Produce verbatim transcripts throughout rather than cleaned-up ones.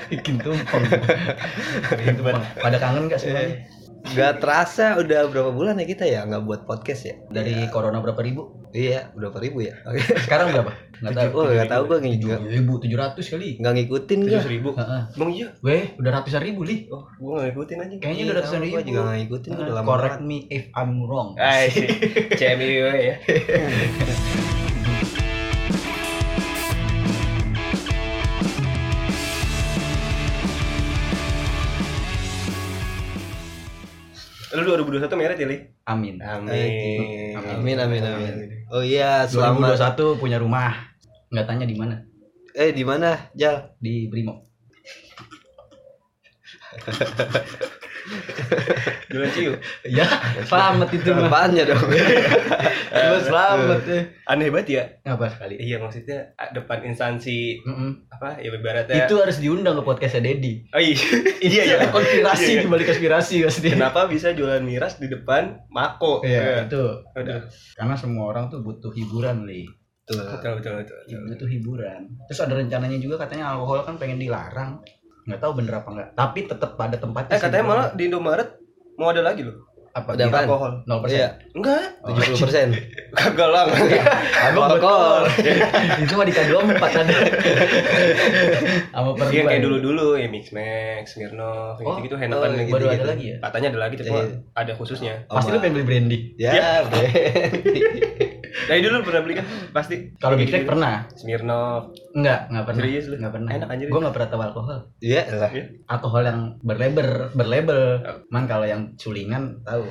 Bikin tumpeng. Bikin tumpeng. Pada kangen enggak semuanya? Gak terasa udah berapa bulan ya kita ya nggak buat podcast ya? Dari ya. Corona berapa ribu? Iya, berapa ribu ya? Sekarang berapa? Nggak tahu. Oh, nggak tahu gue tujuh ribu tujuh ratus kali. Nggak ngikutin gue. Tujuh ribu. Bang iya. Weh, udah ratusan ribu li. Oh, gue nggak ngikutin aja. Kayaknya udah ratusan ribu. Gue juga nggak ngikutin. Gue udah lama. Correct me if I'm wrong. Ah, sih. C M I ya. Lu dua ribu dua puluh satu meret ya, Li? Amin. Amin. Amin, amin, amin. Oh iya, dua ribu dua selamat. puluh satu punya rumah. Enggak tanya di mana? Eh, di mana, Jal? Di Brimo. Jualan ciu. Ya, selamat itu mah. Apanya dong? Lu selamat ya. Aneh banget ya. Apa sekali? Iya, maksudnya depan instansi Mm-mm. apa ya ibaratnya. Itu harus diundang ke podcastnya Dedi. Oh iya. Iya ya. Konspirasi Iya. di balik konspirasi pasti. Kenapa bisa jualan miras di depan Mako? Iya, Ya. itu. Udah. Karena semua orang tuh butuh hiburan, Li. Tuh. Betul betul betul. betul. Butuh hiburan. Terus ada rencananya juga katanya alkohol kan pengen dilarang. Nggak tahu bener apa enggak. Tapi tetap pada tempatnya. Eh katanya malah di Indomaret mau ada lagi loh. apa Ada dia apaan? Alkohol. nol persen. Iya, Enggak. tujuh puluh persen. Kagak lah. Abang Alkohol. betul. Itu mah di K dua puluh empat ada. Sama per Iya dua. kayak dulu-dulu ya Mix Max, Smirnoff, Oh, gitu-gitu oh, Henneken gitu. baru ada lagi ya? Katanya ada lagi tapi Iya. ada khususnya. Pasti lu pengen beli brandy. Ya, Brandy. Dari dulu pernah beli kan? Pasti. Kalau Big Mac pernah? Smirnoff. Enggak, enggak pernah. Serius lu? Enggak pernah. Enak anjir. Gua enggak pernah tahu alkohol. Iya lah. Alkohol yang berlabel, berlabel. Man kalau yang culingan tahu.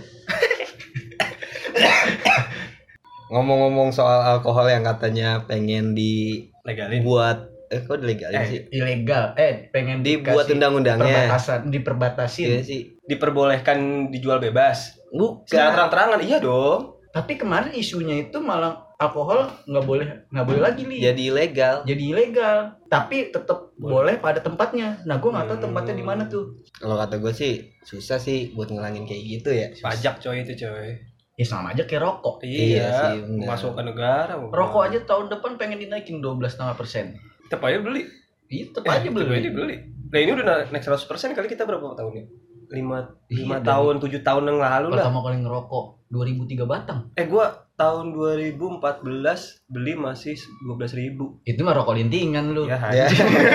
Ngomong-ngomong soal alkohol yang katanya pengen dibuat, Legalin. eh kok dilegalin sih? Eh, ilegal. Eh, pengen Dibuat dikasih undang-undangnya. Perbatasan, diperbatasin. Iya sih. Diperbolehkan dijual bebas. Bukan. Secara terang-terangan iya dong. Tapi kemarin isunya itu malah alkohol nggak boleh nggak boleh lagi li. Jadi ilegal. Jadi ilegal. Tapi tetap boleh pada tempatnya. Nah, gue nggak tahu tempatnya di mana tuh. Kalau kata gue sih susah sih buat ngilangin kayak gitu ya. Pajak coy itu coy. Ya sama aja kayak rokok. Iya sih, Iya. benar. Masuk ke negara. Rokok aja tahun depan pengen dinaikin dua belas koma lima persen. Tetap aja beli. Itu tetap aja Tetap aja beli. beli. Nah ini udah naik seratus persen kali kita berapa tahun ya? lima Iya, tahun, tujuh tahun yang lalu lah. Pertama kali ngerokok dua ribu tiga batang. Eh gua tahun dua ribu empat belas beli masih dua belas ribu. Itu mah rokok lintingan lu. Ya, Ya.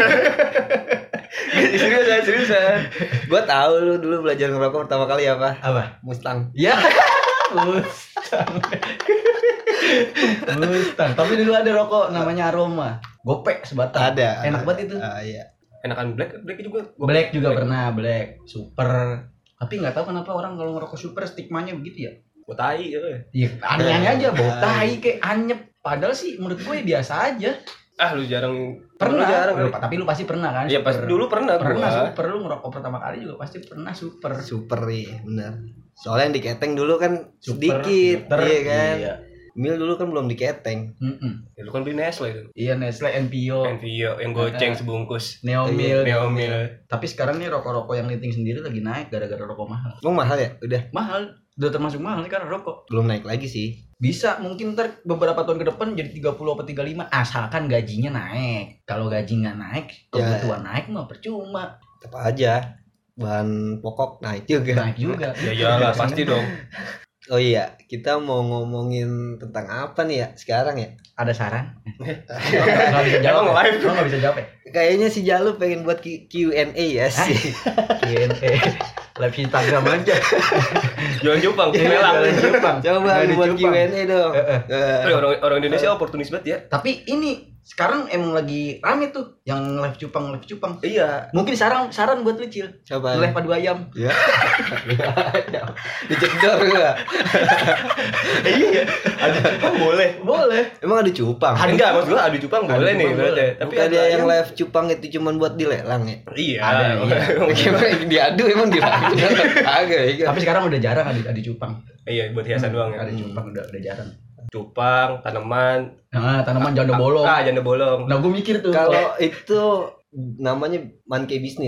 seriusan, seriusan. Gue tahu lu dulu belajar ngerokok pertama kali apa? Apa? Mustang. Ya. Mustang. Mustang. Tapi dulu ada rokok namanya Aroma. Gopek sebatang. Ada. Enak banget itu. Ah, iya. Enakan black, black juga. gua- Black juga pernah, Black, Super. Tapi nggak tahu kenapa orang kalau ngerokok Super stigmanya begitu ya. Gua tai ya. Iya, aneh-aneh aja, bau tai kayak anyep. Padahal sih menurut gue ya biasa aja. Ah lu jarang. Pernah, Lu jarang Lu- kali. tapi lu pasti pernah kan? Iya pas Super. dulu pernah pernah gua. Super, lu ngerokok pertama kali juga pasti pernah Super. Super nih, benar. Soalnya yang diketeng dulu kan Super, sedikit, filter, iya kan. Iya. Mil dulu kan belum diketeng. Mm-mm. Ya, lu kan beli Nestle itu. Iya, Nestle, N P O, Envio yang goceng Eh, sebungkus. Neomil. Neomil. Tapi sekarang nih rokok-rokok yang linting sendiri lagi naik gara-gara rokok mahal. Emang mahal ya? Udah Mahal, udah termasuk mahal sekarang rokok. belum naik lagi sih. Bisa mungkin ntar beberapa tahun ke depan jadi tiga puluh atau tiga puluh lima asalkan gajinya naik. Kalau gaji nggak naik, kebutuhan naik mah percuma. Tetap aja bahan pokok naik juga. Naik juga. Ya iyalah pasti dong. Oh iya, kita mau ngomongin tentang apa nih ya sekarang ya? Ada saran? Nggak bisa jawab. Emang ya? live? Lo nggak bisa jawab ya? Kayaknya si Jalu pengen buat Q- Q&A ya sih. Q and A. Live Instagram aja. Jualan cupang, Iya, melang. jualan cupang. Coba Nggak di buat cupang. Q and A dong. Eh, eh. Eh, Eh, orang orang Indonesia oportunis banget ya. Tapi ini sekarang emang lagi rame tuh yang live cupang, live cupang. Iya. Mungkin saran saran buat lu Cil. Coba. Live padu ayam. Ya. Dijedor gua. Iya. Adu cupang boleh. Boleh. Emang ada cupang? Adu Enggak, cupang. maksud gua adu cupang Adu boleh nih cupang berarti. boleh. Tapi Bukan adu ada yang ayam- live cupang itu cuman buat dilelang ya? Iya. Ada, iya. Gimana diadu emang diadu? Agak ya. Tapi sekarang udah jarang adu adu cupang. Iya, buat hiasan doang ya. Ada cupang udah udah jarang. Cupang, tanaman. Nah, tanaman janda bolong. Ah, janda bolong. Nah, gue mikir tuh. Kalau itu namanya monkey bisnis.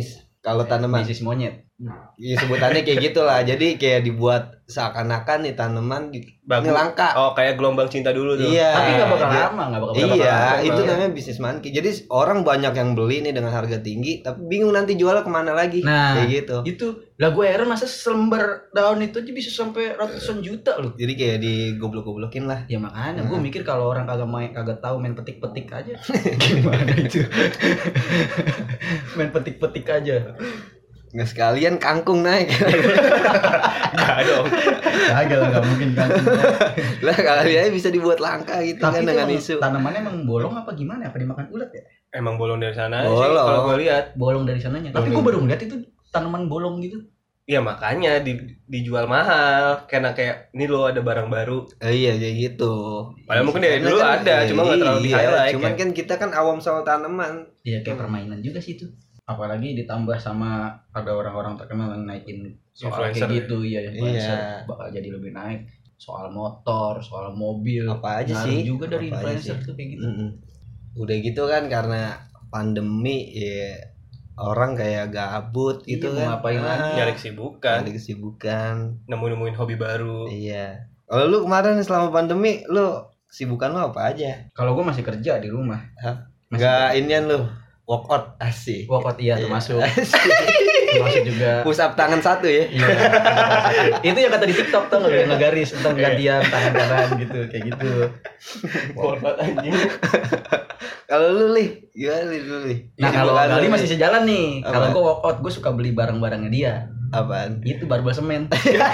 Kalau tanaman, bisnis monyet. ya sebutannya kayak gitulah. Jadi kayak dibuat seakan-akan nih tanaman di Bagus. ini langka. Oh, kayak gelombang cinta dulu tuh. Iya. Tapi nggak bakal dia- lama, nggak bakal nggak bakal Iya, lama. itu Iya. namanya bisnis monkey. Jadi orang banyak yang beli nih dengan harga tinggi, tapi bingung nanti jualnya kemana lagi. Nah, Kayak gitu. Itu lah gue heran masa selembar daun itu aja bisa sampai ratusan juta loh. Jadi kayak digoblok-goblokin lah. Ya makanya Nah. gue mikir kalau orang kagak main kagak tahu main petik-petik aja. Gimana itu? Main petik-petik aja. Nggak sekalian kangkung naik. Enggak dong. Kagak lah, nggak mungkin kan. Lah kali aja bisa dibuat langka gitu Tapi kan itu dengan emang isu. tanamannya emang bolong apa gimana? Apa dimakan ulat ya? Emang bolong dari sana sih Bolong. kalau gue lihat. Bolong dari sananya. Tapi gue baru ngeliat itu tanaman bolong gitu. Ya makanya di, dijual mahal karena kayak ini loh ada barang baru. Eh, iya kayak gitu. Padahal mungkin dari Karena dulu kan- ada, cuma nggak terlalu iya, di-highlight. Cuman ya. kan kita kan awam soal tanaman. Iya kayak permainan juga sih itu. Apalagi ditambah sama ada orang-orang terkenal yang naikin soal Influencer. kayak gitu ya, influencer Iya. bakal jadi lebih naik. Soal motor, soal mobil. Apa aja Ngaruh sih? juga dari Apa aja influencer sih? tuh kayak gitu. Mm-mm. Udah gitu kan karena pandemi ya orang kayak gabut gitu Iya, mau kan. ngapain lagi? Nyari kesibukan, Cari kesibukan. nemu-nemuin hobi baru. Iya. Kalau lu kemarin selama pandemi lu kesibukan lu apa aja? Kalau gue masih kerja di rumah. Hah? Masih Enggak inian lu. Workout asik. workout iya termasuk. Asik. Termasuk juga. Push up tangan satu ya. Iya. Itu yang kata di TikTok tuh yang ngegaris tentang gantian tangan kanan gitu, kayak gitu. Workout anjing. Kalau lu Lih, gimana Lih dulu Lih? Nah, kalau Kesibukan lu, Gali Lih. masih sejalan nih. Apa? Kalau gue workout, gue suka beli barang-barangnya dia. Apaan? Itu barbel semen.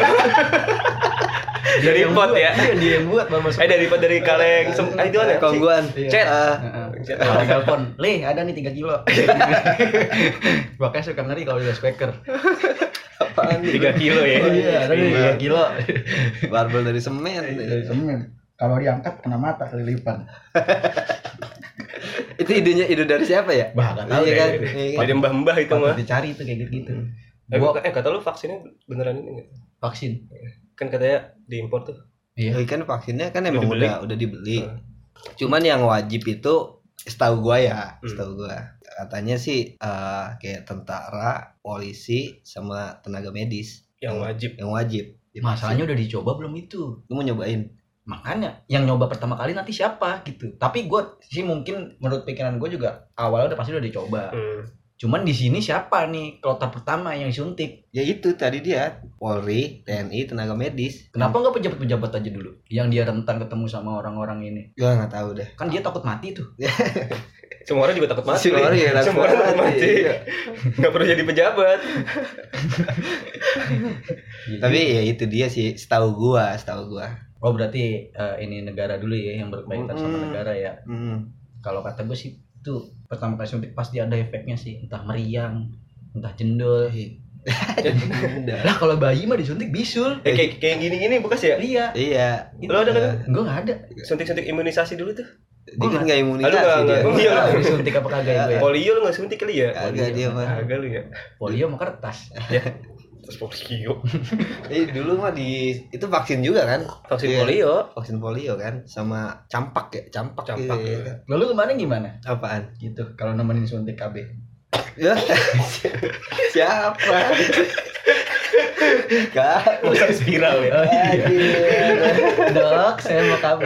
Dari yang pot buat, ya. Iya, dia yang buat barbel Eh semen. dari dari kaleng sem- ah, itu ada sih? Kongguan. Iya. Chat. Ah, Heeh. Chat. Kalau telepon, "Lih, ada nih tiga kilo." Makanya suka ngeri kalau udah speaker. apaan nih? tiga kilo ya. Oh iya, ada nih tiga kilo. Barbel dari semen. Dari semen. Kalau diangkat kena mata kelilipan. Itu idenya ide dari siapa ya? Bah, enggak tahu Iya kan? deh. Iya kan? Dari mbah-mbah itu Patut mah. dicari tuh kayak gitu. Eh, Gua eh kata lu vaksinnya beneran ini nggak? vaksin. Kan katanya diimpor tuh. Iya. Oh, kan vaksinnya kan Udah emang dibeli? udah udah dibeli. Hmm. Cuman yang wajib itu setahu gua ya, Hmm. setahu gua. Katanya sih eh, kayak tentara, polisi sama tenaga medis Yang wajib. yang wajib. divaksin. Masalahnya udah dicoba belum itu? Lu mau nyobain? Makanya yang nyoba pertama kali nanti siapa gitu. Tapi gue sih mungkin menurut pikiran gue juga awalnya udah pasti udah dicoba. Hmm. Cuman di sini siapa nih kloter pertama yang disuntik? Ya itu tadi dia Polri, T N I, tenaga medis. Kenapa nggak pejabat-pejabat aja dulu yang dia rentan ketemu sama orang-orang ini? Gua nggak tahu deh. Kan dia takut mati tuh. Semua orang juga takut mati. Semua orang juga takut Semua orang takut mati. mati. Nggak perlu jadi pejabat. Tapi ya itu dia sih, setahu gua, setahu gua. Oh berarti eh, ini negara dulu ya yang berkaitan sama Mm-mm. negara ya. Hmm. Kalau kata gue sih itu pertama kali suntik pasti ada efeknya sih, entah meriang, entah jendol. Udah. Lah kalau bayi mah disuntik bisul. Eh, kayak kayak gini-gini bekas ya? Iya. Iya. Lo ada kan? Gue nggak ada. Suntik-suntik imunisasi dulu tuh. Dia kan nggak Aduh, imunisasi nggak, dia. nggak. Gue Iya. nggak tahu disuntik apa kagak ya gue ya. Polio lu nggak suntik kali ya? Kagak dia mah. Kagak lu ya. Polio mah kertas. Terus polio. Eh dulu mah di itu vaksin juga kan? Vaksin Iya. polio. Vaksin polio kan sama campak ya, campak. Campak, gitu, ya. ya. Lalu kemarin gimana? Apaan? Gitu kalau nemenin suntik K B. Ya. Siapa? Kak. Bukan spiral ya. Oh iya. Anjir. Dok, saya mau K B.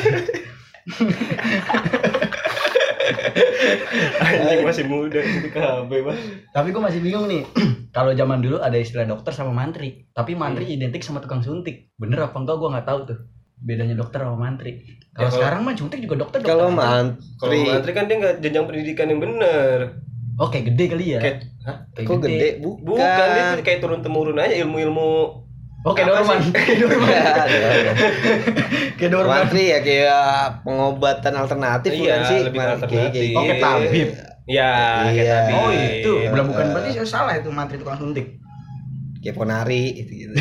Anjing masih muda itu K B Bang. Tapi gue masih bingung nih. Kalau zaman dulu ada istilah dokter sama mantri, tapi mantri Hmm. identik sama tukang suntik. Bener apa enggak gue nggak tahu tuh. Bedanya dokter sama mantri. Kalau Ya, kalau- sekarang mah suntik juga dokter. Kalau dokter. Kalau mantri, mantri kan dia nggak jenjang pendidikan yang bener. Oh kayak gede kali ya. Kayak Kayak kok gede? Bukan. bukan dia tuh kayak turun temurun aja ilmu-ilmu. Oh kayak Apa Dorman. sih? Kayak Dorman. Ya, ada. Kayak Dorman. Mantri ya kayak pengobatan alternatif Iya, bukan sih? lebih Mantri, alternatif. kayak Oh kayak gitu. tabib. Ya, kayak Iya. tadi. Oh itu. Belum bukan Eh. berarti saya salah itu mantri tukang suntik. Kayak ponari itu gitu.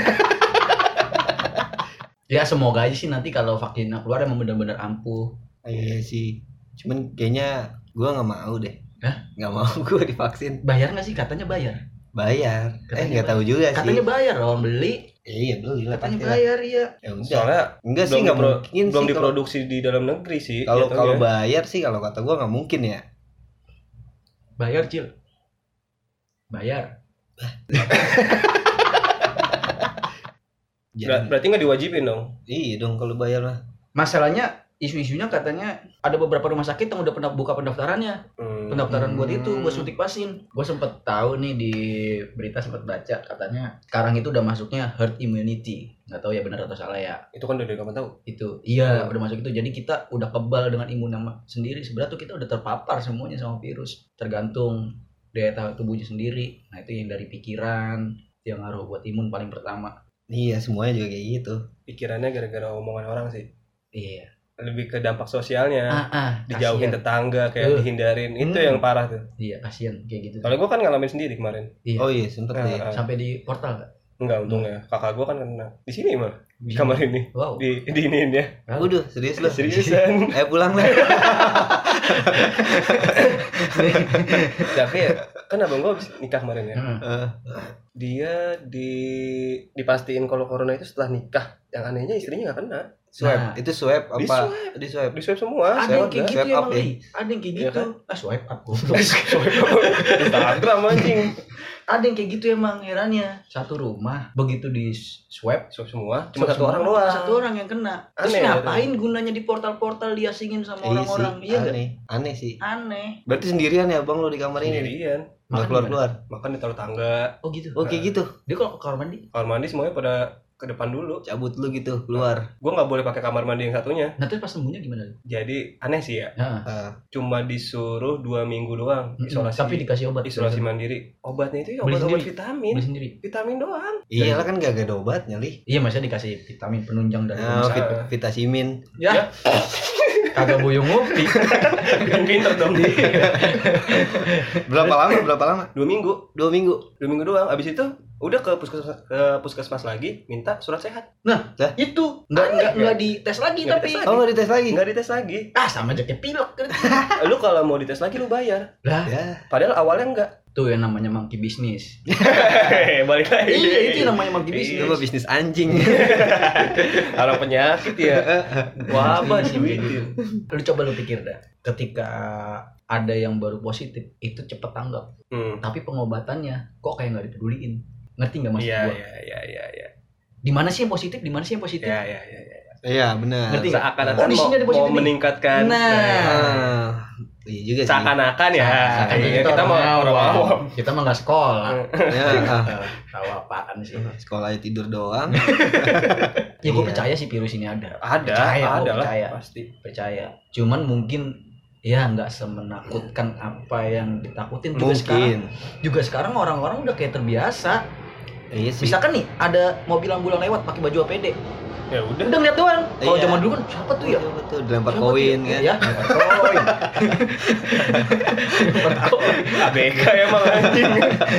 Ya semoga aja sih nanti kalau vaksinnya keluar emang benar-benar ampuh. Iya sih. Cuman kayaknya gua nggak mau deh. Hah? Nggak mau gua divaksin. Bayar nggak sih? Katanya bayar. Bayar. eh Katanya nggak tahu juga sih. Katanya bayar orang beli. Eh, iya beli lah Katanya pasti lah. bayar iya. Ya udah. Soalnya Enggak sih belum nggak dipro- mungkin belum sih kalau diproduksi di dalam negeri sih. kalau jatuhnya. kalau bayar sih kalau kata gua nggak mungkin ya. Bayar Cil. Bayar. Ber- berarti nggak diwajibin dong. Iya dong kalau bayar lah. Masalahnya isu-isunya katanya ada beberapa rumah sakit yang udah pernah buka pendaftarannya. Hmm. Pendaftaran buat itu, Hmm. buat suntik vaksin. Gue sempet tahu nih di berita, sempet baca katanya sekarang itu udah masuknya herd immunity. Nggak tahu ya benar atau salah ya. Itu kan udah dari kapan tahu. Itu iya Hmm. udah masuk itu. Jadi kita udah kebal dengan imun nama sendiri. Sebenarnya tuh kita udah terpapar semuanya sama virus. Tergantung daya tahan tubuhnya sendiri. Nah itu yang dari pikiran yang ngaruh buat imun paling pertama. Iya semuanya juga kayak gitu. Pikirannya gara-gara omongan orang sih. Iya. Lebih ke dampak sosialnya. Ah, ah, Dijauhin kasian. tetangga, kayak Uh. dihindarin. Itu Hmm. yang parah tuh. Iya kasihan kayak gitu. Kalau gue kan ngalamin sendiri kemarin. Iya. Oh iya sempet Nah, deh. ah. Sampai di portal nggak? Enggak untungnya. Kakak gue kan kena. Di sini mah. Di Di kamar ini. Wow. Di di iniin ya. Waduh serius lo? Seriusan. Eh pulang lah. Tapi ya, kan abang gue habis nikah kemarin ya. Heeh. Eh, Dia di dipastiin kalau corona itu setelah nikah. Yang anehnya istrinya nggak kena. swab Nah. itu swab Di apa? swab. Di swab. Di swab semua. Ada Swab yang kayak dah. gitu swipe up emang, ya? Li. Ada yang kayak Iya gitu. kan? Ah, swipe up. Instagram anjing. Ada yang kayak gitu emang herannya. Satu rumah begitu di swab, Swab semua. Cuma swab satu semua, orang doang. Satu orang yang kena. Terus Aneh, ngapain gunanya di portal-portal diasingin sama Iya orang-orang? sih, Iya nggak? aneh. Aneh sih. Aneh. Berarti sendirian ya bang lo di kamar ini? Sendirian. Nggak Makan keluar-keluar? Makan di taruh tangga. Oh gitu. Oh kayak gitu? Dia kalau ke kamar mandi. Kamar mandi semuanya pada ke depan dulu. Cabut lu gitu, keluar. Gue nggak boleh pakai kamar mandi yang satunya. Nah terus pas sembuhnya gimana? Jadi aneh sih ya. Nah, Ah, Cuma disuruh dua minggu doang isolasi. tapi dikasih obat. isolasi mandiri. Obatnya itu ya Beli obat-obat sendiri. vitamin. Beli sendiri. Vitamin doang. iyalah kan gak ada obatnya li. Iya, maksudnya dikasih vitamin penunjang dari Nah, rumah vit sakit. vitasimin. Ya. Kagak boyong ngopi. Pinter dong. Berapa lama? Berapa lama? Dua minggu. Dua minggu. Dua minggu doang. Abis itu udah ke puskesmas, ke puskesmas lagi minta surat sehat. Itu nggak nggak nggak dites lagi Nggak tapi. dites lagi. Oh nggak dites lagi? Nggak dites lagi. Ah sama aja kayak pilek. Lu kalau mau dites lagi lu bayar. Lah, Ya. Padahal awalnya enggak. tuh yang namanya monkey business. Balik lagi. Iya, itu yang namanya monkey Iya. business. Itu mah bisnis anjing. Orang penyakit ya. Wabah sih Duitin. gitu. Lu coba lu pikir dah, ketika ada yang baru positif itu cepet tanggap, Hmm. tapi pengobatannya kok kayak nggak dipeduliin. Ngerti nggak maksud Iya, gua? iya, iya, iya, iya. Di mana sih yang positif? Di mana sih yang positif? Iya, iya, iya, iya. Iya benar. Ngerti nggak? Seakan-akan Oh, di mau, sini ada mau positif nih. meningkatkan. Nah. Ah, iya juga sih. Seakan-akan ya. Seakan-akan Iya, kita kita mau orang orang awam. awam. Kita mah nggak sekolah. Ya, ah. Eh, Tahu apaan sih? Sekolahnya tidur doang. Ya gue Iya. percaya sih virus ini ada. Ada, Percaya, gua ada lah, percaya. pasti. Percaya. Cuman mungkin ya nggak semenakutkan apa yang ditakutin juga sekarang. Mungkin. Juga sekarang orang-orang udah kayak terbiasa. Iya sih. Misalkan nih ada mobil ambulan lewat pakai baju A P D. Ya udah. Udah ngeliat doang. Kalau Iya. zaman dulu kan siapa tuh ya? Betul, betul. Dilempar Siapa koin tuh? kan. Ya, lempar koin. Lempar koin. A B K emang anjing.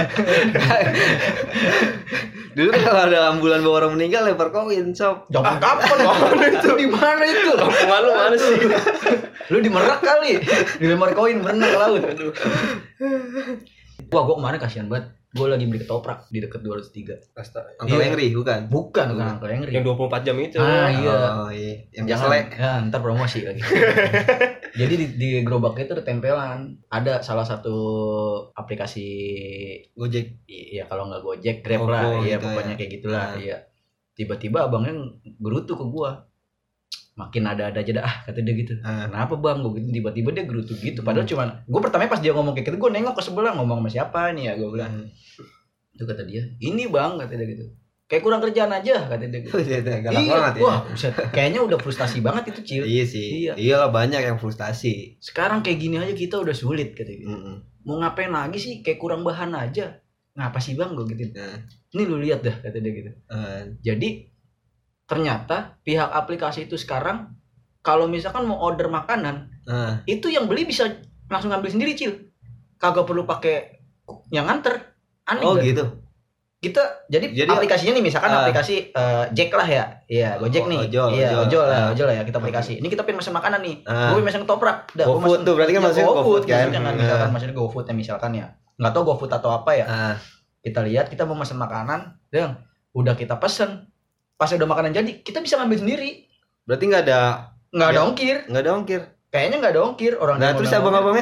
Dulu kan kalau ada ambulan bawa orang meninggal lempar koin, sob. Zaman kapan? Mana itu? Di mana itu? Kampungan lu mana sih? Lu di Merak kali. Dilempar koin berenang ke laut. Aduh. Wah, gua kemarin kasihan banget. Gua lagi beli ketoprak di dekat dua ratus tiga. Astaga. Uncle Iya. Henry bukan? Bukan, bukan Uncle Henry. Yang dua puluh empat jam itu. Ah, iya. Oh iya. Yang Jangan, selek. ya, ntar promosi lagi. Jadi di, di gerobaknya itu ada tempelan. Ada salah satu aplikasi, Gojek. ya kalau nggak Gojek, Grab Gogo lah. Iya, gitu pokoknya ya. kayak gitulah. Nah. Iya. Tiba-tiba abangnya gerutu ke gua. Makin ada-ada aja dah, ah, kata dia gitu. Ah. Kenapa bang? Gue gitu, tiba-tiba dia gerutu gitu. Padahal cuman, gue pertama pas dia ngomong kayak gitu, gue nengok ke sebelah ngomong sama siapa nih ya, gue bilang. Hmm. Itu kata dia, ini bang, kata dia gitu. Kayak kurang kerjaan aja, kata dia gitu. Iya, galak Iya, banget ya. wah, buset. Kayaknya udah frustasi banget itu, Cil. Iya sih. Iya. Iyalah banyak yang frustasi. Sekarang kayak gini aja kita udah sulit, kata dia. Mm-mm. Mau ngapain lagi sih? Kayak kurang bahan aja. Ngapa sih bang, gue gitu. Nah, Ini lu lihat dah, kata dia gitu. eh, Jadi ternyata pihak aplikasi itu sekarang kalau misalkan mau order makanan, nah, itu yang beli bisa langsung ngambil sendiri, Cil. Kagak perlu pakai yang nganter. Aneh oh nggak? gitu. Kita jadi, Jadi, aplikasinya nih misalkan uh, aplikasi uh, Jack lah ya. Iya, Gojek Oh, nih. ojol, Iya, ojol. ojol lah, Ah. ojol lah ya kita aplikasi. Ini kita pengen pesan makanan nih. Ah. Gue pengen pesan ketoprak. Dah, gua GoFood pesen. tuh, berarti kan Ya, maksudnya GoFood kan? maksudnya kan Ah. misalkan maksudnya GoFood ya misalkan ya. Enggak tahu GoFood atau apa ya. Ah, Kita lihat kita mau pesan makanan, Deng. Udah kita pesen. Pas udah makanan jadi, kita bisa ngambil sendiri. berarti nggak ada Nggak ada Ya. ongkir. nggak ada ongkir. Kayaknya nggak ada ongkir orang Nah yang terus modal- abang-abangnya?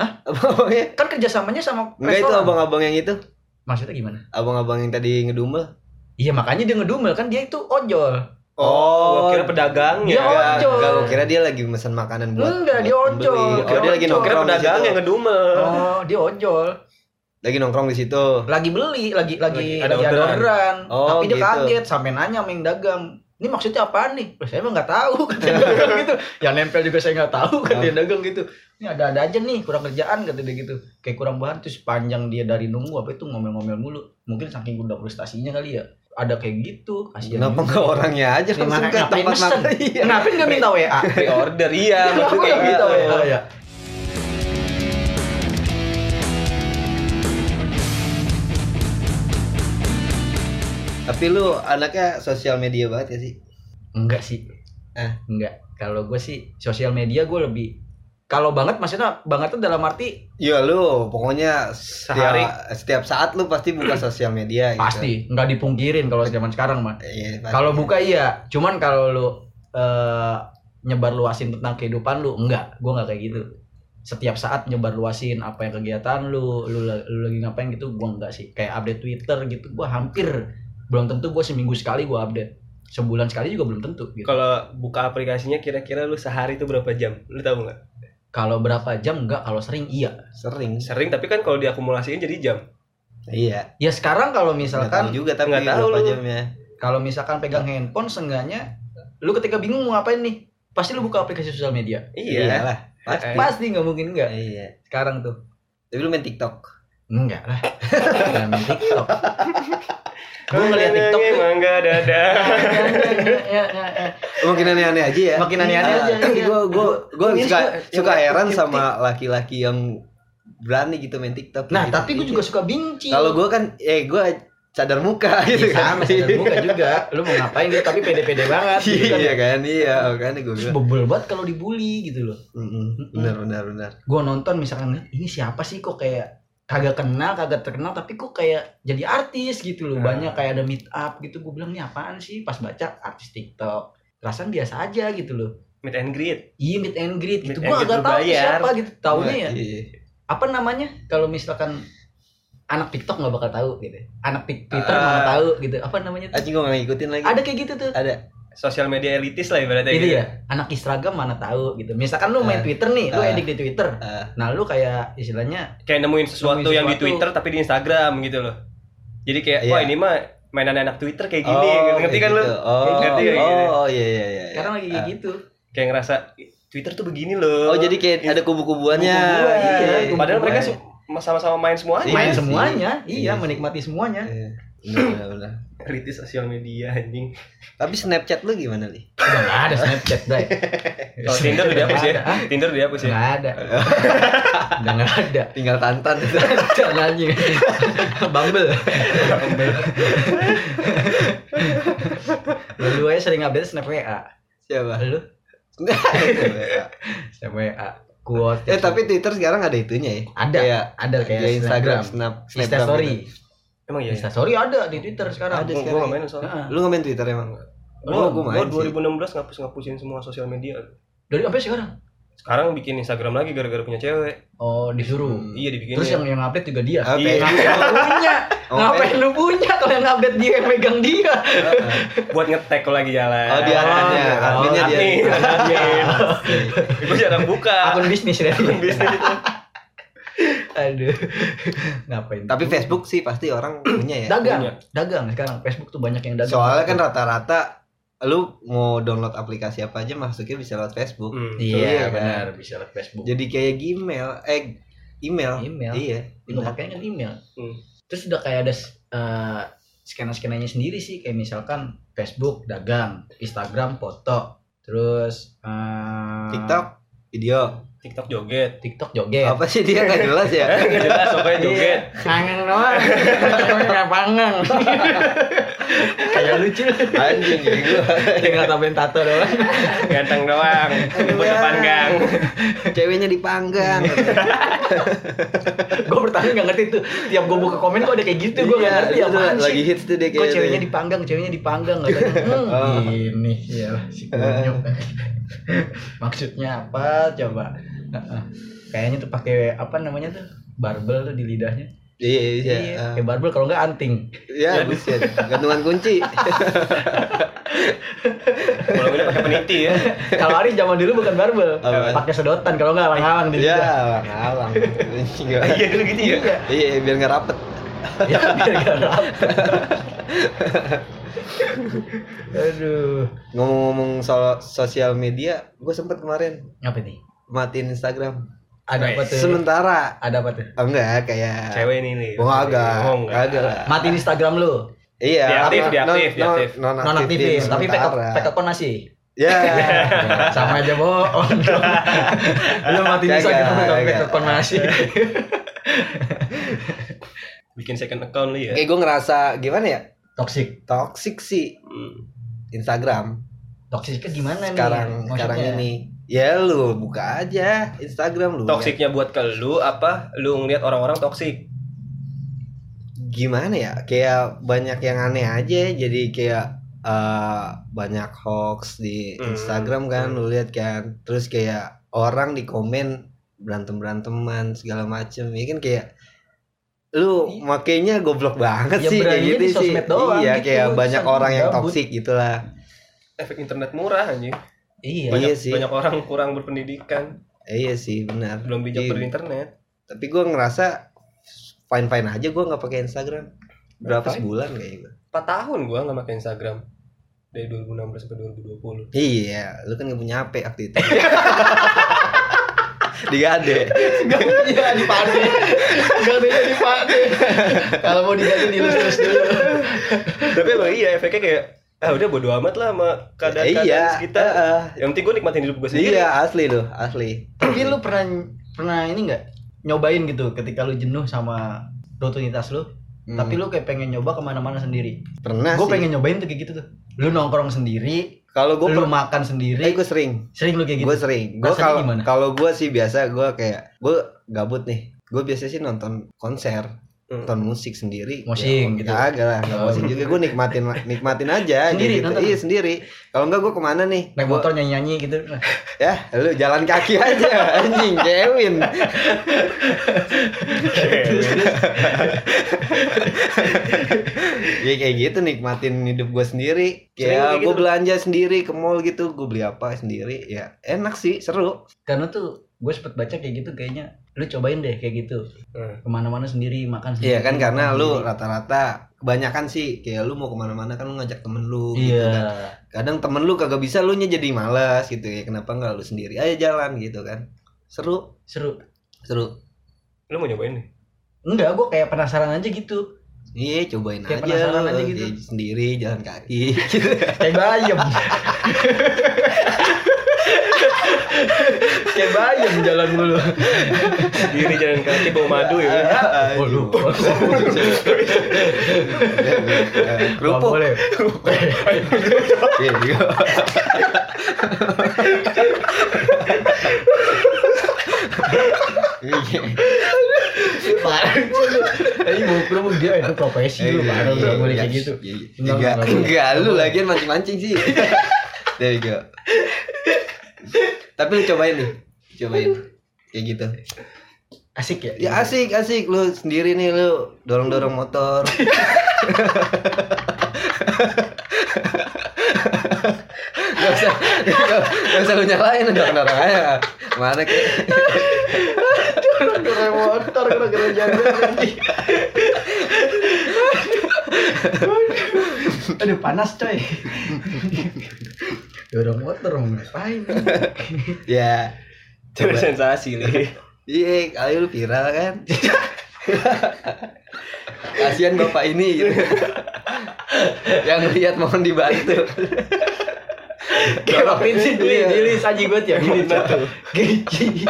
Abang-abangnya. Kan kerjasamanya sama Enggak itu restoran. abang-abang yang itu. Maksudnya gimana? Abang-abang yang tadi ngedumel. Iya makanya dia ngedumel kan dia itu ojol. Oh, gua kira pedagangnya. Dia ojol. Enggak, gua kira dia lagi pesan makanan buat. Enggak, dia buat ojol. pembeli. Oh, dia lagi Gua kira nongkrong di pedagang situ. yang ngedumel. Oh, dia ojol. Lagi nongkrong di situ. Lagi beli, lagi lagi Lagi ada lagi ada orderan. orderan. Oh, Tapi dia gitu. kaget sampai nanya sama yang dagang. Ini maksudnya apaan nih? Loh, saya emang nggak tahu kata yang dagang gitu. Yang nempel juga saya nggak tahu kata yang dagang gitu. Ini ada-ada aja nih kurang kerjaan kata dia gitu. Kayak kurang bahan terus panjang dia dari nunggu apa itu ngomel-ngomel mulu. Mungkin saking udah frustasinya kali ya. Ada kayak gitu, kasihan. Kenapa enggak orangnya aja Ya, langsung ke ngapain tempat mesen? makan? Iya. Kenapa nggak minta W A? Pre-order iya, Kenapa maksudnya kayak nggak minta gitu. W A ya? Tapi lu anaknya sosial media banget ya sih? Enggak sih. Eh. Enggak. Kalau gue sih sosial media gue lebih kalau banget maksudnya banget tuh dalam arti Iya lu pokoknya Sehari. setiap, setiap saat lu pasti buka sosial media gitu. pasti nggak dipungkirin kalau zaman sekarang mah. Iya, pasti. Kalau buka iya, cuman kalau lu eh, nyebar luasin tentang kehidupan lu enggak, gue nggak kayak gitu. Setiap saat nyebar luasin apa yang kegiatan lu, lu, lu lagi ngapain gitu, gue enggak sih. Kayak update Twitter gitu, gue hampir belum tentu gue seminggu sekali gue update, sebulan sekali juga belum tentu. Gitu. Kalau buka aplikasinya kira-kira lu sehari itu berapa jam? Lu tahu nggak? Kalau berapa jam enggak, kalau sering iya. Sering. Sering tapi kan kalau diakumulasiin jadi jam. Iya. Ya sekarang kalau Nggak tahu misalkan juga tapi nggak tahu berapa lu. jamnya. kalau misalkan pegang handphone seenggaknya lu ketika bingung mau ngapain nih, pasti lu buka aplikasi sosial media. Iya. Iyalah. Pasti. Eh. Pasti nggak mungkin enggak. Iya. Sekarang tuh. Tapi lu main TikTok. Enggak lah. Jangan main TikTok. Gue ngeliat TikTok tuh. Mangga dada. Makin aneh-aneh aja ya. Makin aneh-aneh aja, iya. Gue gue gue Ini suka suka- suka yang heran aktif- sama laki-laki yang berani gitu main TikTok. Nah, gitu. tapi gue juga suka benci. Kalau gue kan eh gue cadar muka gitu Iya, kan. sama sadar muka juga. Lu mau ngapain gitu tapi pede-pede banget gitu kan. Iya kan, iya kan gue Terus bilang. bebel banget kalau dibully gitu loh. Mm-mm. Benar benar benar. Gue nonton misalkan ini siapa sih kok kayak kagak kenal, kagak terkenal tapi kok kayak jadi artis gitu loh. Nah. Banyak kayak ada meet up gitu. Gue bilang ini apaan sih? Pas baca artis TikTok. Perasaan biasa aja gitu loh. Meet and greet. Iya meet and greet gitu. Meet Gue and greet agak tahu berbayar. siapa gitu. Taunya ya. Iya. Apa namanya? Kalau misalkan anak TikTok nggak bakal tahu gitu. Anak Tik- Twitter Ah. mana tahu gitu. Apa namanya tuh? Anjing gue gak ngikutin lagi. Ada kayak gitu tuh. Ada. Sosial media elitis lah ibaratnya Itu gitu. ya. Anak Instagram mana tahu gitu. Misalkan lu main Ah. Twitter nih, lu Ah. edit di Twitter. Ah. Nah, lu kayak istilahnya Kayak nemuin sesuatu Nemuin yang di sesuatu. Twitter tapi di Instagram gitu loh. Jadi kayak Iya. wah ini mah mainan anak Twitter kayak gini gitu. Ngerti kayak kan lu? gitu. Oh, Kayak gitu, kayak gitu. oh, iya iya iya. sekarang lagi kayak Ah. gitu. Kayak ngerasa Twitter tuh begini loh. Oh, jadi kayak ada kubu-kubuannya. Kubu-kubuan, iya. Padahal mereka Kubu-kubuan. su- sama-sama main semuanya. Iya Main sih. semuanya, Iya iya, sih. menikmati semuanya. Iya. Benar benar benar. Elitis sosial media anjing. Tapi Snapchat lu gimana, Li? Udah nggak ada Snapchat, Bray. Kalau Tinder udah dihapus ya. Hah? Tinder udah dihapus ya. Nggak ada. Udah nggak ada. Tinggal Tantan. Jangan anjing. Bumble. Lu aja sering update Snap W A. Siapa? Lu Enggak. Snap W A. Quote. Eh tapi Twitter sekarang ada itunya ya. ada, Kayak ada kayak kayak Instagram, Snapgram. Snap, Insta Snapgram story. gitu. Emang iya. Insta story ada di Twitter sekarang. Ada Gue sekarang. gak main soalnya. Heeh. Lu nggak main Twitter emang? Gue Oh, gua main dua sih. ribu enam belas ngapus-ngapusin semua sosial media. Dari sampai sekarang. Sekarang bikin Instagram lagi gara-gara punya cewek. Oh, disuruh. Hmm. Iya dibikin. Terus yang yang update juga dia. Oke. Iya. Ngapain lu punya? Oh, Ngapain lu punya kalau yang update dia yang megang dia? buat ngetek kalau lagi jalan. Oh, dia adminnya, Oh, adminnya dia. admin, admin. Gue jarang buka. Akun bisnis ya. Akun bisnis itu. Aduh. Ngapain? Tapi Facebook sih pasti orang punya ya. dagang, punya. dagang sekarang Facebook tuh banyak yang dagang. Soalnya kan rata-rata lu mau download aplikasi apa aja masuknya bisa lewat Facebook. Hmm. iya Iya, kan? benar bisa lewat Facebook. Jadi kayak Gmail, eh email. Email. Iya. Itu benar. pakainya kan email. Hmm. Terus udah kayak ada uh, skena-skenanya sendiri sih kayak misalkan Facebook dagang, Instagram foto, terus uh, TikTok video. TikTok joget. TikTok joget. Apa sih dia nggak jelas ya? Eh, nggak jelas pokoknya joget. Kangen doang. Nggak pangang. Kayak lucu. Anjing ya gua. Tinggal tambahin tato doang. Ganteng doang. Buat Iya. panggang. Ceweknya dipanggang. Gue pertama nggak ngerti tuh. Tiap gue buka komen kok ada kayak gitu. Gue nggak ngerti itu apaan sih. lagi hits tuh dia Kok kayak. ceweknya dipanggang, ceweknya dipanggang katanya. Hmm, Oh. ini ya si kunyuk. Maksudnya apa coba? Heeh. Kayaknya tuh pakai apa namanya tuh? Barbel tuh di lidahnya. Iya iya. Iya, ah. kayak barbel kalau enggak anting. Ya buset, gantungan kunci. Kalau ini pakai peniti ya. Kalau Ari zaman dulu bukan barbel, Apaan? pakai sedotan kalau enggak alang-alang di Ya, lidah. ngalang. Iya dulu gitu ya. Iya. Iya, biar nggak rapet. Ya biar enggak rapet. Aduh. Ngomong-ngomong soal sosial media, gue sempet kemarin Apa nih? matiin Instagram. Ada apa tuh? Sementara. Ada apa tuh? Oh, enggak, kayak Cewek ini nih. Oh, agak. Oh, enggak. Agak lah. Matiin Instagram lu. Iya. Diaktif, non- diaktif, non- diaktif. non- Non nonaktifin aktifin, tapi pack sementara. pack account masih. Ya. Sama aja bohong dong. Lu matiin Kagak, Instagram tapi pack kagak. account masih. Bikin second account lu ya. Kayak gue ngerasa gimana ya? Toxic. Toxic sih Hmm. Instagram Toksiknya gimana nih? sekarang Maksudnya? sekarang ini. Ya lu buka aja Instagram lu. Toksiknya buat ke lu apa? Lu ngeliat orang-orang toksik. Gimana ya? Kayak banyak yang aneh aja. Jadi kayak eh, banyak hoax di Hmm. Instagram kan, Hmm. lu lihat kan. Terus kayak orang di komen berantem beranteman segala macem. Ya kan kayak lu makainya goblok banget Ya, sih kayak beraninya gitu di sih. sosmed doang Iya gitu, kayak banyak sambil orang yang gabut. toksik gitulah. Efek internet murah anjing. Iya. Banyak, Iya sih. banyak orang kurang berpendidikan, Eh, iya sih benar. belum bijak Iya. berinternet. Tapi gue ngerasa fine fine aja gue nggak pakai Instagram. Berapa Fine? sebulan kayaknya gue. empat tahun gua enggak pakai Instagram. Dari dua ribu enam belas sampai dua ribu dua puluh. Iya, lu kan gak punya H P waktu itu. Digade. Gak punya dipade. Gak punya dipade. Kalau mau diganti dilus-lus dulu. Tapi emang iya efeknya kayak ah udah bodo amat lah sama keadaan-keadaan Iya, sekitar. heeh. Yang penting gue nikmatin hidup gue sendiri. Iya, asli loh, asli. Tapi lu pernah pernah ini nggak nyobain gitu ketika lu jenuh sama rutinitas lu, Hmm. tapi lu kayak pengen nyoba kemana-mana sendiri. Pernah Gue sih. pengen nyobain tuh kayak gitu tuh. Lu nongkrong sendiri, Kalau gue lu per- makan eh, sendiri. gue sering. Sering lu kayak gitu. Gue sering. Gue Rasanya kalau gimana? kalau gue sih biasa gue kayak gue gabut nih. Gue biasa sih nonton konser, Hmm. nonton musik sendiri. Mosing gitu. Agak lah, nggak Oh. mosing juga. Gue nikmatin nikmatin aja. Sendiri, gitu. nonton? Iya sendiri. Kalau enggak gue kemana nih? Naik Gua- motor nyanyi-nyanyi gitu. Ya, lu jalan kaki aja, anjing, Kevin. Ya kayak gitu nikmatin hidup gue sendiri. Sering kayak Kayak gue gitu? belanja sendiri ke mall gitu, gue beli apa sendiri. Ya enak sih, seru. Karena tuh gue sempet baca kayak gitu kayaknya. Lu cobain deh kayak gitu. Hmm. Kemana-mana sendiri, makan sendiri. Iya kan karena makan lu sendiri. rata-rata kebanyakan sih kayak lu mau kemana-mana kan lu ngajak temen lu gitu Iya. kan. Kadang temen lu kagak bisa, lu nya jadi malas gitu ya. Kenapa nggak lu sendiri aja jalan gitu kan? Seru, Seru. seru. Lu mau nyobain nih? Enggak, gue kayak penasaran aja gitu. Iya, cobain Kayak aja penasaran lu, aja gitu. ya, sendiri jalan kaki. Gitu. Kayak bayam. Kayak bayam jalan mulu. Sendiri jalan kaki bawa madu ya. Oh, lupa. Kerupuk. Nggak boleh. Iya, iya. Iya. Parah sih lu. Ini mau kerupuk dia itu profesi lu, parah lu nggak boleh kayak gitu. Iya, iya. Enggak, Enggak, enggak boleh. enggak, lu lagian mancing-mancing sih. There you go. Tapi lu cobain nih. Cobain. Kayak gitu. Asik ya? Ya asik, asik lu sendiri nih lu dorong-dorong motor. Gak usah, gak usah lu nyalain, dorong-dorong aja. Mana kayak Gara-gara motor, gara-gara jalan. Aduh panas coy. Dorong motor mau ngapain? ya. Cari Coba. sensasi nih. Iya, kali lu viral kan. Kasihan bapak ini gitu. Yang lihat mohon dibantu. Kayak waktu itu sih Dili, Iya. Dili saji gue tiap ini tuh. Gici.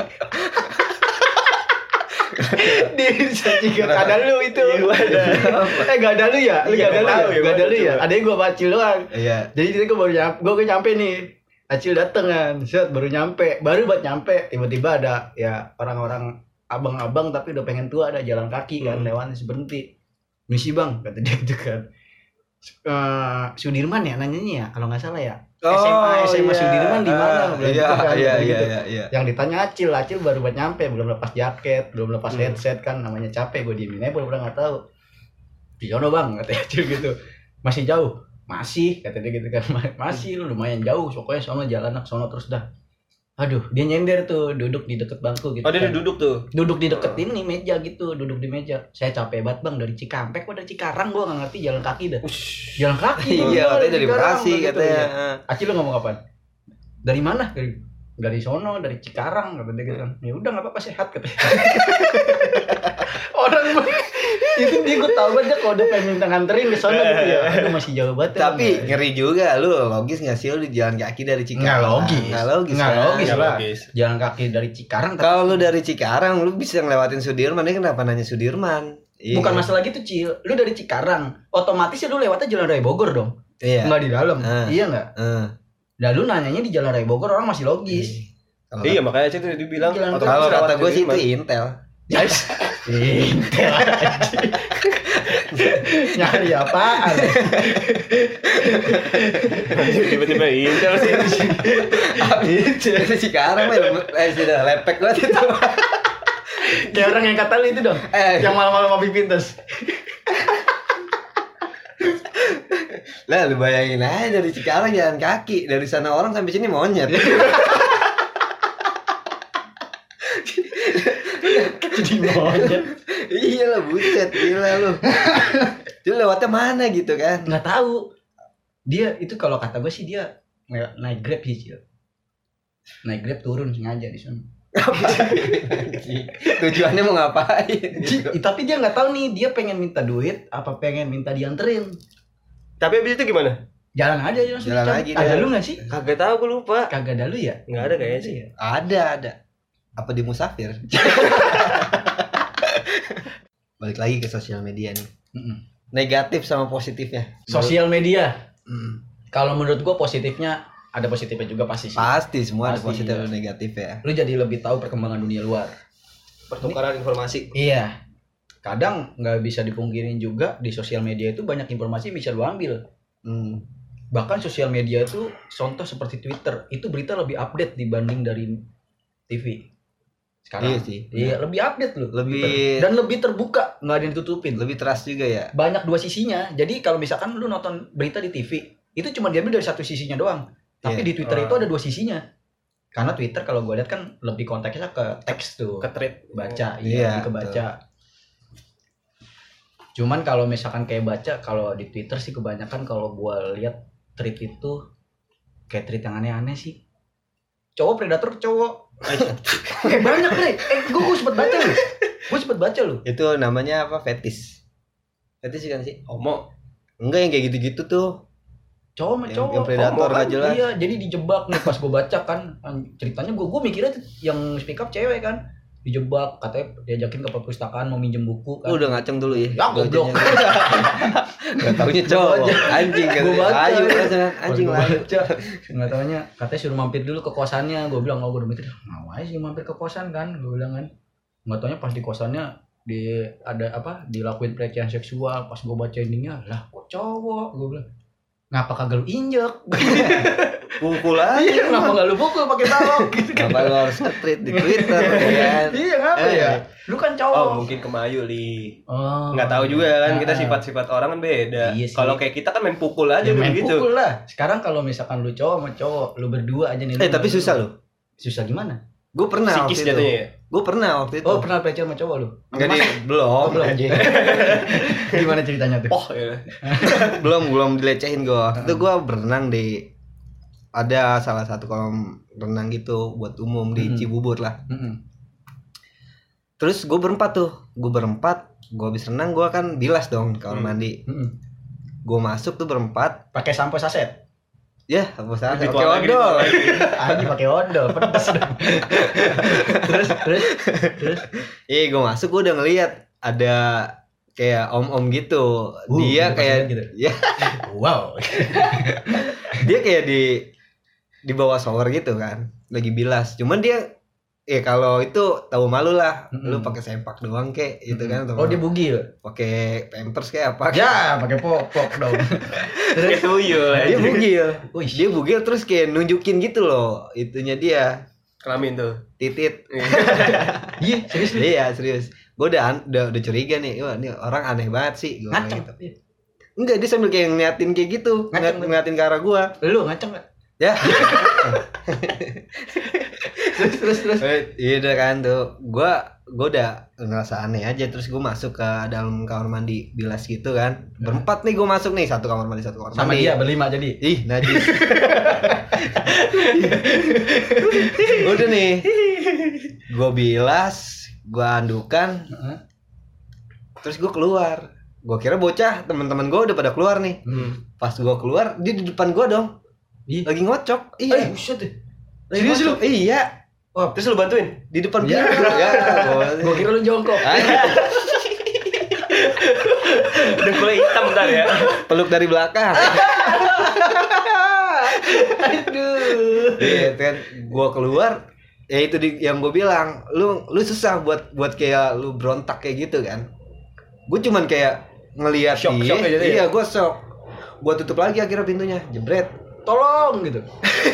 Dili saji gue ada lu itu. Eh gak ada lu ya? Lu Iya, gak ada lu tahu ya? ya, Gak ada lu coba. ya? Adanya gue bacil doang. Iya. Jadi tadi gue baru nyampe, gue nyampe nih. Acil dateng kan, set baru nyampe, baru buat nyampe, tiba-tiba ada ya orang-orang abang-abang tapi udah pengen tua, ada jalan kaki kan, Hmm. lewat terus berhenti. Misi bang, kata dia gitu kan. Eh, Sudirman ya nanyanya ya, kalau nggak salah ya. S M A S M A Sudirman di mana? Iya, iya, iya, iya, iya. Yang ditanya Acil, Acil baru buat nyampe, belum lepas jaket, belum lepas hmm. headset kan, namanya capek, gue diemin aja pura-pura nggak tahu. Di sono bang, kata Acil gitu. Masih jauh, masih, kata dia gitu kan, masih lumayan jauh, pokoknya sono jalan nak sono terus dah. Aduh, dia nyender tuh, duduk di deket bangku gitu. Oh, dia kan. duduk tuh. Duduk di deket ini meja gitu, duduk di meja. Saya capek banget bang dari Cikampek, kok dari Cikarang gue nggak ngerti jalan kaki dah. Ush. Jalan kaki. Iya, katanya dari Bekasi katanya. Acil lu ngomong apaan? Dari mana? Dari dari sono, dari Cikarang kata dia gitu kan. Ya udah enggak apa-apa sehat katanya. Orang itu dia gue tahu aja kalau udah pengen minta nganterin ke sono gitu ya. Aduh masih jauh banget. Tapi ya, ngeri juga lu, logis enggak sih lu jalan kaki dari Cikarang? Enggak logis. Enggak logis. Enggak kan? logis, Nggak lah. logis. Jalan kaki dari Cikarang. Kalau lu dari Cikarang lu bisa ngelewatin Sudirman, ini kenapa nanya Sudirman? Bukan masalah gitu, Cil. Lu dari Cikarang, otomatis ya lu lewatnya Jalan Raya Bogor dong. Iya. Enggak di dalam. Uh. Iya enggak? Uh. Nah, lu nanyanya di Jalan Raya Bogor orang masih logis. Kalo Iya, makanya Acil tuh dibilang kalau kata gue sih itu Intel. Guys, Intel aja. Nyari apaan? Tiba-tiba Intel sih. Itu Cikarang mah eh sudah lepek banget itu. Kayak orang yang kata lu itu dong. Eh. Yang malam-malam mobil pintas. Lah lu bayangin aja dari Cikarang jalan kaki, dari sana orang sampai sini monyet. Jadi monyet. Iya lah buset, gila lu. Dia lewatnya mana gitu kan? Nggak tahu. Dia itu kalau kata gue sih dia naik Grab sih, Cil. Naik Grab turun sengaja di sana. Tujuannya mau ngapain? Gitu. Tapi dia nggak tahu nih, dia pengen minta duit apa pengen minta dianterin. Tapi abis itu gimana? Jalan aja aja Jalan lagi. Ada lu nggak sih? Kagak tahu, gue lupa. Kagak ada lu ya? Nggak ada kayaknya sih. Ada, ada. Apa di Musafir? Balik lagi ke sosial media nih. Mm-mm. Negatif sama positifnya. Sosial media. Hmm. Kalau menurut gua positifnya ada positifnya juga pasti sih. Pasti semua Pasti, ada positif iya. dan negatif ya. Lu jadi lebih tahu perkembangan dunia luar. Pertukaran informasi. Iya. Kadang nggak bisa dipungkirin juga di sosial media itu banyak informasi bisa lu ambil. Hmm. Bahkan sosial media itu contoh seperti Twitter, itu berita lebih update dibanding dari T V. Sekarang Iya sih. Iya, lebih update lu. Lebih Dan lebih terbuka, nggak ada yang tutupin. lebih trust juga ya. Banyak dua sisinya. Jadi kalau misalkan lu nonton berita di T V, itu cuma diambil dari satu sisinya doang. Tapi Iya. di Twitter Oh. itu ada dua sisinya. Karena Twitter kalau gue lihat kan lebih konteksnya ke teks tuh. Ke thread. Baca, Iya, iya, lebih ke baca. Cuman kalau misalkan kayak baca, kalau di Twitter sih kebanyakan kalau gue lihat tweet itu kayak tweet yang aneh-aneh sih. Cowok predator cowok. Kayak banyak deh. Eh, gue gue sempet baca loh. Gue sempet baca loh. Itu namanya apa? Fetish. Fetish kan sih? Homo. Enggak yang kayak gitu-gitu tuh. Cowok sama Yang- cowok. yang predator Homo nggak jelas. Iya, jadi dijebak nih pas gue baca kan ceritanya gue gue mikirnya tuh yang speak up cewek kan. Dijebak, katanya diajakin ke perpustakaan mau minjem buku kan. Lu udah ngaceng dulu ya. Ya, goblok. Enggak taunya cowok. Anjing kan. Gua baca. Ayo rasanya anjing Pas gua layu. baca, nggak taunya katanya suruh mampir dulu ke kosannya. Gue bilang, oh gue udah mikir ngapain sih mampir ke kosan kan, gue bilang kan. Nggak taunya pas di kosannya di ada apa dilakuin pelecehan seksual. Pas gue baca endingnya, lah kok cowok, gue bilang ngapa kagak lu injek. Pukul aja. Iya, kenapa nggak lu pukul pakai balok gitu kan. Kenapa lu harus nge-tweet di Twitter kan? Iya, ngapa Eh. ya, lu kan cowok. Oh, mungkin kemayu li. Oh, Nggak tahu juga kan, kita Ah. sifat-sifat orang kan beda. Iya sih. Kalau kayak kita kan main pukul aja Ya, main begitu. pukul lah. Sekarang kalau misalkan lu cowok sama cowok, lu berdua aja nih. Eh lu tapi berdua. susah lu. Susah gimana? Gue pernah waktu Psikis itu. jatuhnya ya. Gue pernah waktu itu. Oh, pernah pelecehan sama cowok lu? Enggak di belum. Oh, belum aja. Gimana ceritanya tuh? Oh, ya. belum belum dilecehin gue. Waktu itu gue berenang di ada salah satu kolam renang gitu buat umum di Hmm. Cibubur lah. Mm-mm. Terus gue berempat tuh, gue berempat, gue habis renang gue kan bilas dong kalau Hmm. mandi. Mm-mm. Gue masuk tuh berempat, Pakai sampo saset. ya apa salah? Ritual Oke lagi, odol. ritual lagi. Anjing pakai odol, pedes dong. terus terus terus Iya gue masuk gue udah ngeliat ada kayak om-om gitu. Uh, dia gitu kayak pas gitu. ya wow. dia kayak di di bawah shower gitu kan, lagi bilas. Cuman dia eh kalau itu tahu malu lah. Mm-mm. Lu pakai sempak doang kek gitu kan. Oh dia bugil. pakai pampers kayak apa? Ya, pakai popok dong. Kayak tuyul Dia aja. bugil. Wih. Dia bugil terus kayak nunjukin gitu loh. Itunya dia. Kelamin tuh. Titit. Iya, serius lu. Iya, serius. Gue udah, an- udah udah curiga nih. Wah, ini orang aneh banget sih. Gua Ngaceng. gitu. Enggak, dia sambil kayak ngeliatin kayak gitu. Ngaceng, Ngeliat, ngeliatin ke arah gua. Lu ngaceng enggak? Ya. Terus terus terus. Eh, Iya udah kan tuh. Gua gua udah ngerasa aneh aja, terus gua masuk ke dalam kamar mandi bilas gitu kan. Berempat nih gua masuk nih, satu kamar mandi, satu kamar Sama mandi. dia berlima jadi. Ih, najis. Udah nih. Gua bilas, gua andukan, Heeh. terus gua keluar. Gua kira bocah, teman-teman gua udah pada keluar nih. Hmm. Pas gua keluar, dia di depan gua dong. Ih. Lagi ngocok. Eh, Iya. buset deh. Lagi serius ngocok. Iya. Oh, terus lu bantuin? Di depan Ya. pintu. Ya. Gua kira lu jongkok. Udah mulai hitam ntar ya. Peluk dari belakang. Aduh. Iya kan, gua keluar, ya itu di, yang gue bilang, lu lu susah buat buat kayak lu berontak kayak gitu kan. Gue cuman kayak ngelihat Shock- dia, shock aja tuh ya? iya gue shock. Gue tutup lagi akhirnya pintunya, jebret. Tolong gitu.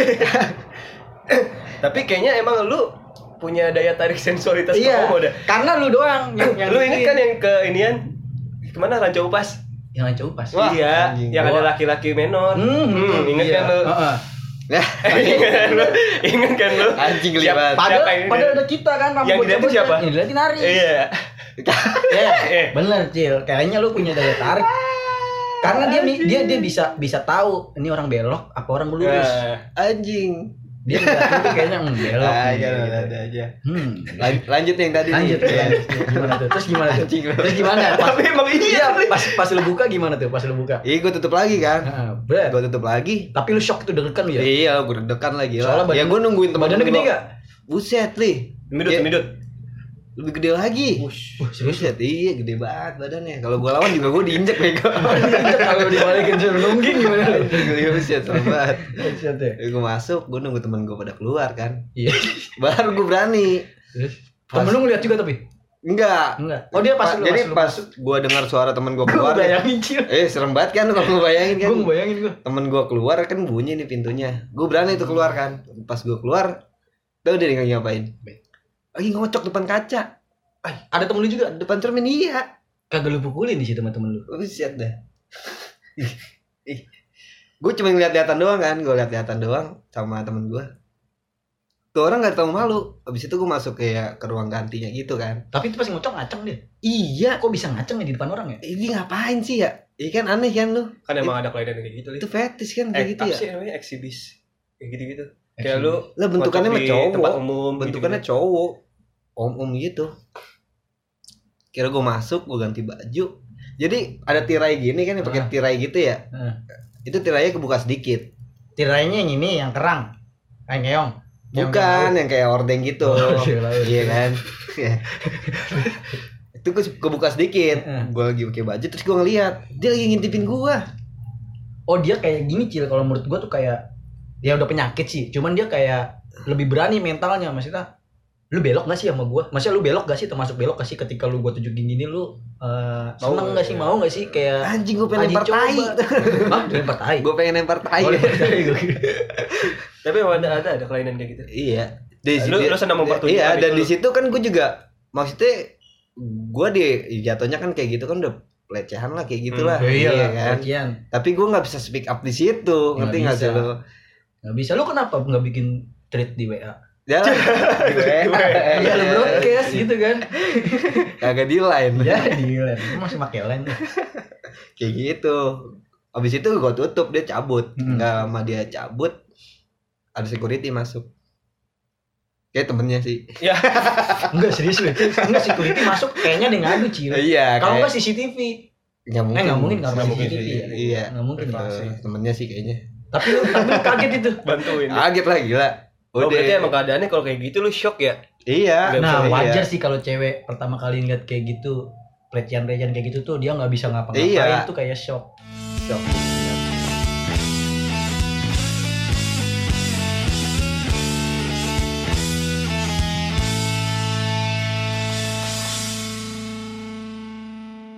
Tapi kayaknya emang lu punya daya tarik sensualitas Iya. homo dah. Karena lu doang yang yang Lu inget kan yang ke inian? Kemana Ranca Upas? yang lancar pas. Wah, iya, anjing. yang ada Wah. laki-laki menor. Hmm, Hmm, inget iya. kan lu? Heeh. Nah, Ingat kan lu? Ingat kan lu? anjing Siap- libat. Padahal, Siapa ini? padahal ada kita kan rambut Yang diliatin bocah-bocah. siapa? Yang diliatin Ari. Iya. Ya, Eh. bener Cil. Kayaknya lu punya daya tarik. Karena dia dia dia bisa bisa tahu ini orang belok apa orang lurus. Nah, Anjing. Dia ngeliatin tuh kayaknya hmm, belok. Ah, nih, jangan gitu. ada aja. Hmm. Lan- lanjut yang tadi. Lanjut nih. ya. Gimana tuh? Terus gimana tuh? Anjing lu. Terus gimana? Pas, tapi emang iya. iya, pas pas lu buka gimana tuh? Pas lu buka. Iya, gue tutup lagi kan. Heeh, berat. Gue tutup lagi. Tapi lu shock tuh deg-degan lu ya? Iya, gue deg-degan lagi Soalnya lah. badan- Ya gue nungguin teman Badannya gede gak? Buset, Li. Semidut, Ya, semidut. lebih gede lagi. Wush. Wah, serius Buset, iya gede banget badannya. Kalau gue lawan juga gue diinjek bego. kalau dibalikin suruh nungging gimana? Iya, buset, serem banget. Buset ya. Gue masuk, gue nunggu temen gue pada keluar kan. Iya. Baru gue berani. Terus Pas- temen lu ngeliat juga tapi? Enggak. Enggak. Oh dia pas Pa- lu jadi lu pas masuk. gue dengar suara temen gue Gue keluar. bayangin Cil. eh serem banget kan lu kalau ngebayangin kan. Gue ngebayangin gue. Temen gue keluar kan bunyi nih pintunya. Gue berani tuh keluar kan. Pas gue keluar, tau dia lagi ngapain? Lagi ngocok depan kaca. Ada temen lu juga? Depan cermin iya. Kagak lu pukulin di situ sama temen lu? Buset dah. Gue cuma ngeliat-liatan doang kan. Gue liat-liatan doang sama temen gue. Tuh orang gak tahu malu. Abis itu gue masuk kayak ke ruang gantinya gitu kan. Tapi itu pas ngocok ngaceng dia. Iya. Kok bisa ngaceng ya di depan orang ya? Ini ngapain sih ya? Iya kan aneh kan lu. Kan emang ada kelainan kayak gitu. Li. Itu fetish kan eh, kayak gitu apa ya. sih namanya eksibis. Kayak gitu-gitu. Kayak lu Lah bentukannya mah ngocok di cowok. tempat umum Bentukannya gitu-gitu. cowok. Om-om gitu. Kira gue masuk, gue ganti baju. Jadi ada tirai gini kan yang pakai Ah. tirai gitu ya. Ah. Itu tirainya kebuka sedikit. Tirainya yang ini yang kerang. Kayak ngeong. Yang Bukan yang kayak ordeng gitu. Oh, iya, iya. Iya kan. Itu gue kebuka sedikit. Ah. Gue lagi pakai baju terus gue ngeliat dia lagi ngintipin gue. Oh dia kayak gini Cil, kalau menurut gua tuh kayak dia udah penyakit sih, cuman dia kayak lebih berani mentalnya. Maksudnya lu belok gak sih sama gua? Maksudnya lu belok gak sih, termasuk belok gak sih ketika lu gua tunjukin gini lu uh, seneng Mau gak sih, ya. mau gak sih kayak Anjing gue pengen Aji lempar coba. tai. Hah? Lempar tai? Gue pengen lempar tai. Oh, lempar tai gua kira. Tapi emang ada ada ada kelainan kayak gitu. Iya. Di Lu- situ- lu senang mempertunjukkan Iya, itu dan lu. di situ kan gue juga maksudnya gue di jatuhnya kan kayak gitu kan udah pelecehan lah kayak gitulah. Ya iya, iya kan. Lagian. Tapi gue nggak bisa speak up di situ, Nggak ngerti nggak sih bisa. lo? Gak bisa. Lu kenapa gak bikin tweet di W A? Ya, gue Iya lu broadcast gitu kan. kagak di line. Ya di line. Lu masih pakai line. Kayak gitu. Abis itu gue tutup, dia cabut. Hmm. Nggak lama dia cabut, ada security masuk. Kayak temennya sih. Ya. Enggak serius lu. Enggak security masuk kayaknya dia ngadu Cil. Iya. Kalau kayak- enggak C C T V. nggak mungkin. Eh nggak mungkin karena Nggak mungkin C C T V. sih. Iya. Nggak mungkin. Privasi. Eh, temennya sih kayaknya. Tapi lu tapi lu kaget itu. Bantuin. Kaget lah gila. Oh, berarti emang keadaannya kalau kayak gitu lu shock ya? Iya. Nah iya. wajar sih kalau cewek pertama kali ngeliat kayak gitu, pelecehan-pelecehan kayak gitu tuh dia nggak bisa ngapa-ngapain Iya. tuh kayak shock. Shock.